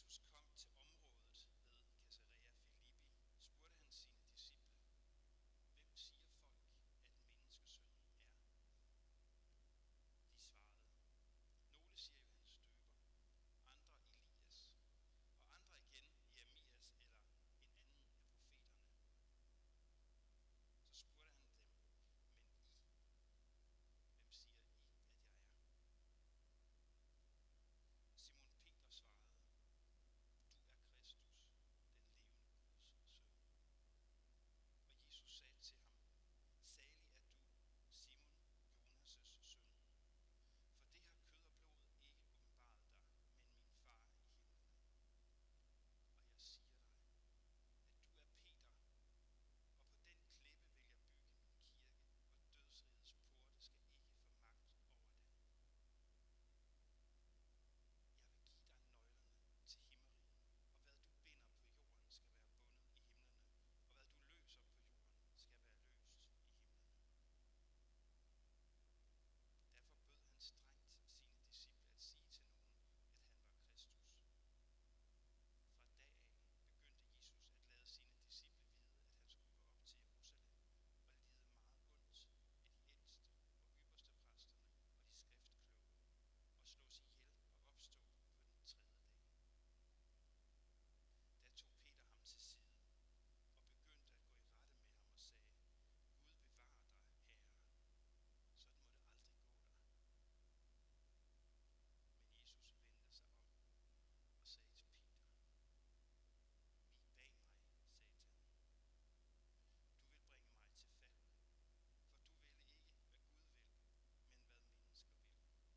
Jesus kom til området ved Caesarea Philippi, spurgte han sine disciple: Hvem siger folk, at menneskesønnen er? De svarede: Nogle siger Johannes Døber, andre Elias, og andre igen Jeremias eller en anden af profeterne. Så spurgte han dem: Men I, hvem siger I, at jeg er? Simon Peter svarede: Du er Kristus, den levende Guds søn. Og Jesus sagde til ham: Salig er du, Simon, Jonas' søn, for det har kød og blod ikke åbenbaret dig, men min far i himlen. Og jeg siger dig, at du er Peter, og på den klippe vil jeg bygge min kirke, og dødsrigets porte skal ikke få magt over det. Jeg vil give dig nøglerne til himmeriget, og hvad du binder på jorden skal være bundet i himlene, og hvad du løser på jorden skal være løst i himlene. Derfor bød han strengt sine disciple at sige til nogen, at han var Kristus. Fra dag af begyndte Jesus at lade sine disciple vide, at han skulle gå op til Jerusalem og lide meget ondt af de ældste og ypperste præsterne og de skriftkloge, og slås ihjel og opstå på den tredje dag. Da tog Peter ham til side og begyndte at gå i rette med ham og sagde: Gud bevare dig, Herre, sådan må det aldrig gå dig. Men Jesus vendte sig om og sagde til Peter: Vig bag mig, Satan. Du vil bringe mig til fald, for du vil ikke, hvad Gud vil, men hvad mennesker vil.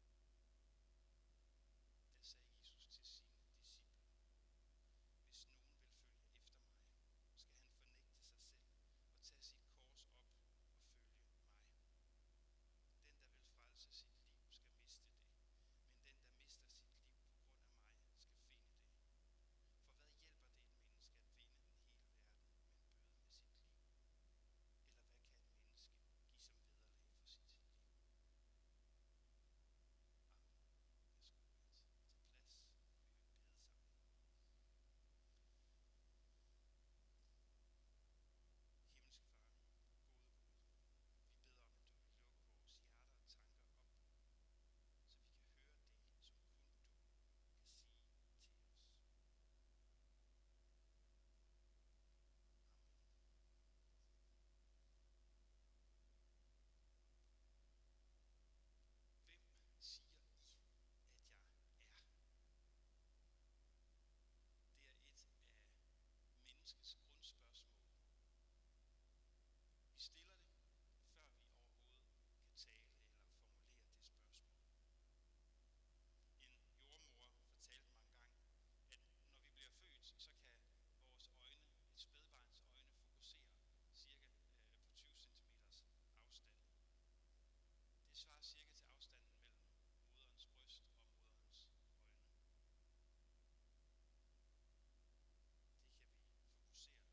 Da sagde Jesus til sine disciple: Hvis nogen vil følge efter mig, skal han fornægte sig selv og tage sit kors op og følge mig. Den, der vil frelse sit liv, skal miste det, men den, der mister sit liv på grund af mig, skal finde det. For hvad hjælper det et menneske at vinde den hele verden, men bøde med sit liv? Eller hvad kan et menneske give som vederlag for sit liv? Amen. Jeg skulle tage plads, og vi vil bede sammen. Himmelske Far, gode Gud, vi beder om, at du vil lukke vores hjerter og tanker op, så vi kan høre det, som kun du kan sige til os. Amen. Hvem siger I, at jeg er? Det er et af menneskets grundspørgsmål. Vi stiller det, før vi overhovedet kan tale eller formulere det spørgsmål. En jordmor fortalte mig engang, at når vi bliver født, så kan vores øjne, et spædbarns øjne, fokusere cirka på 20 cm afstand. Det svarer cirka til afstanden mellem moderens bryst og moderens øjne. Det kan vi fokusere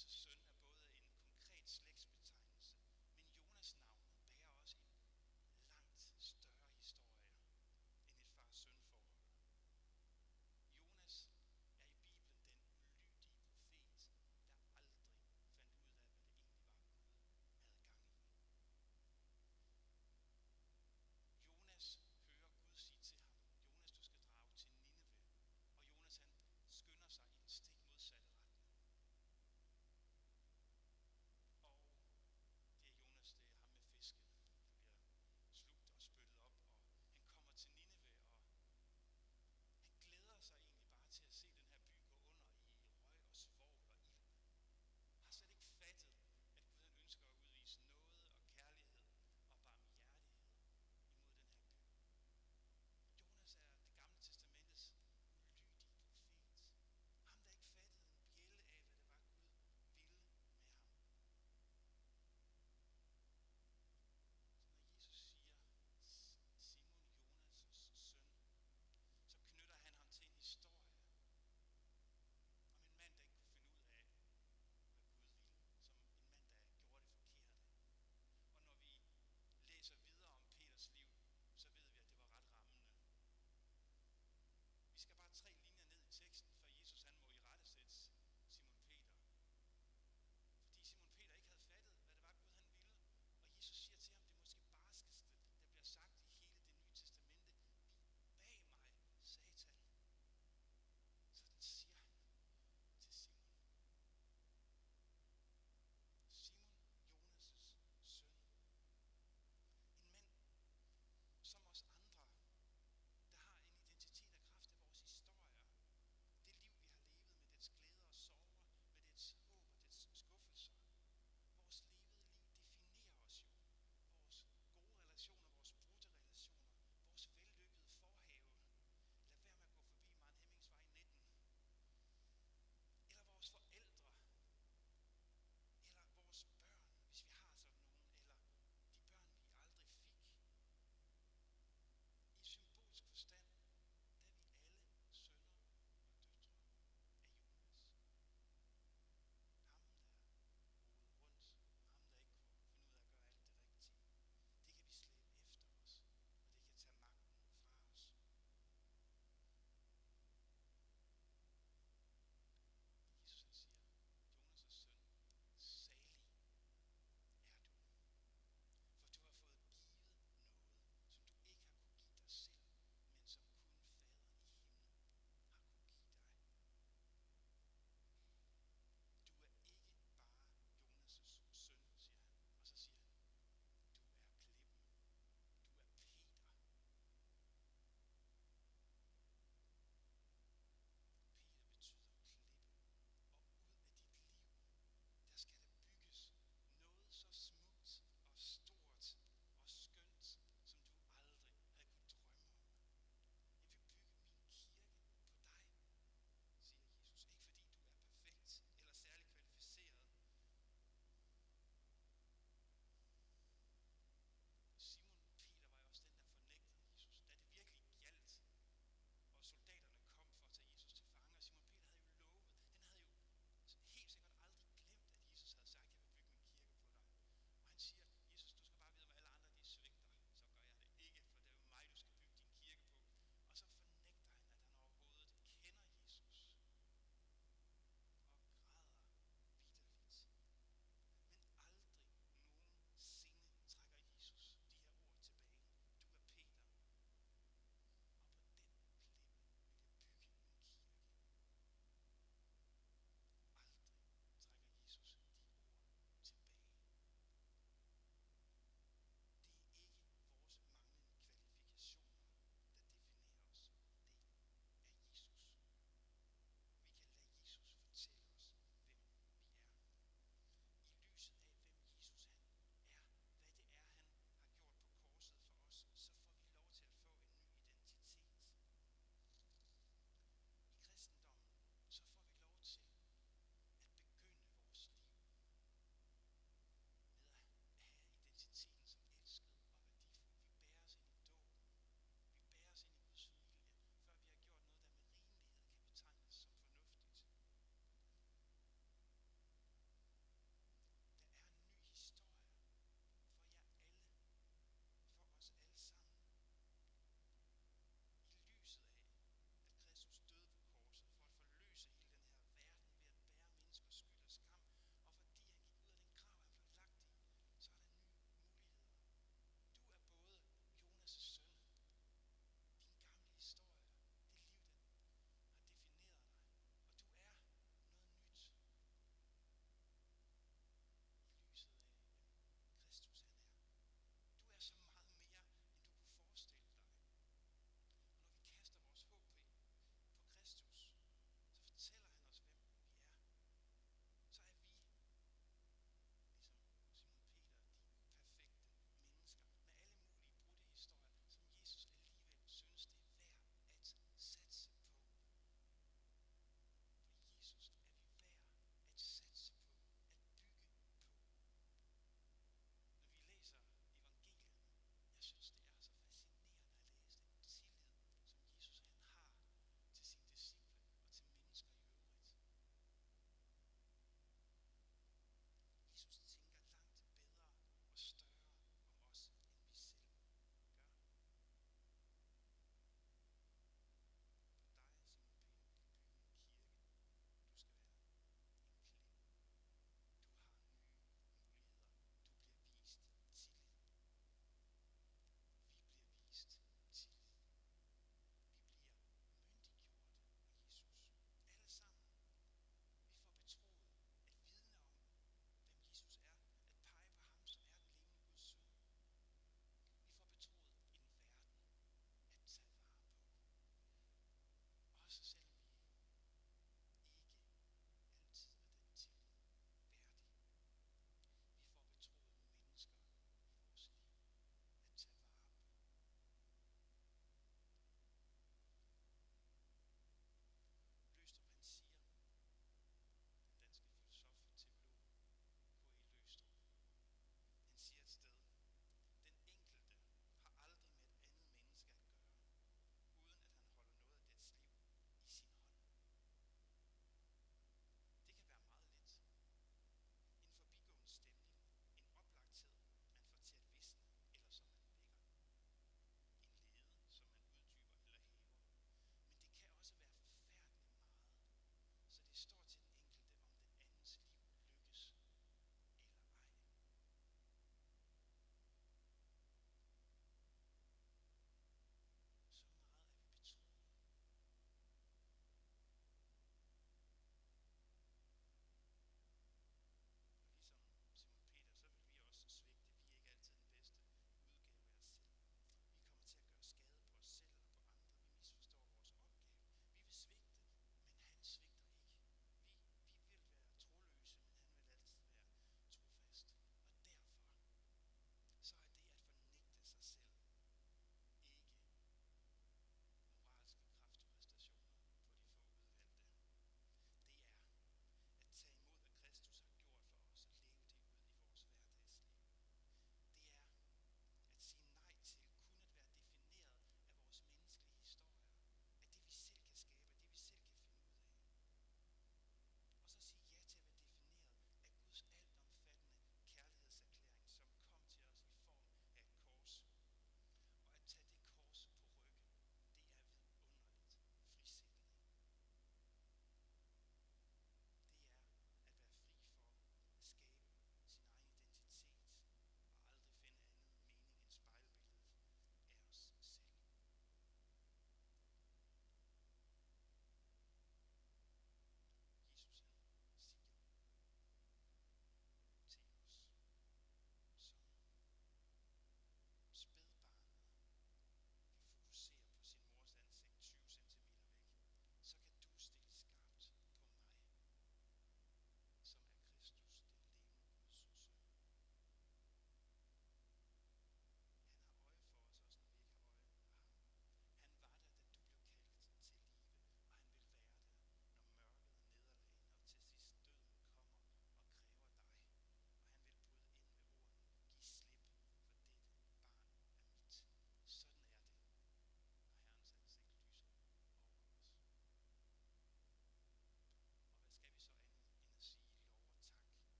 søn.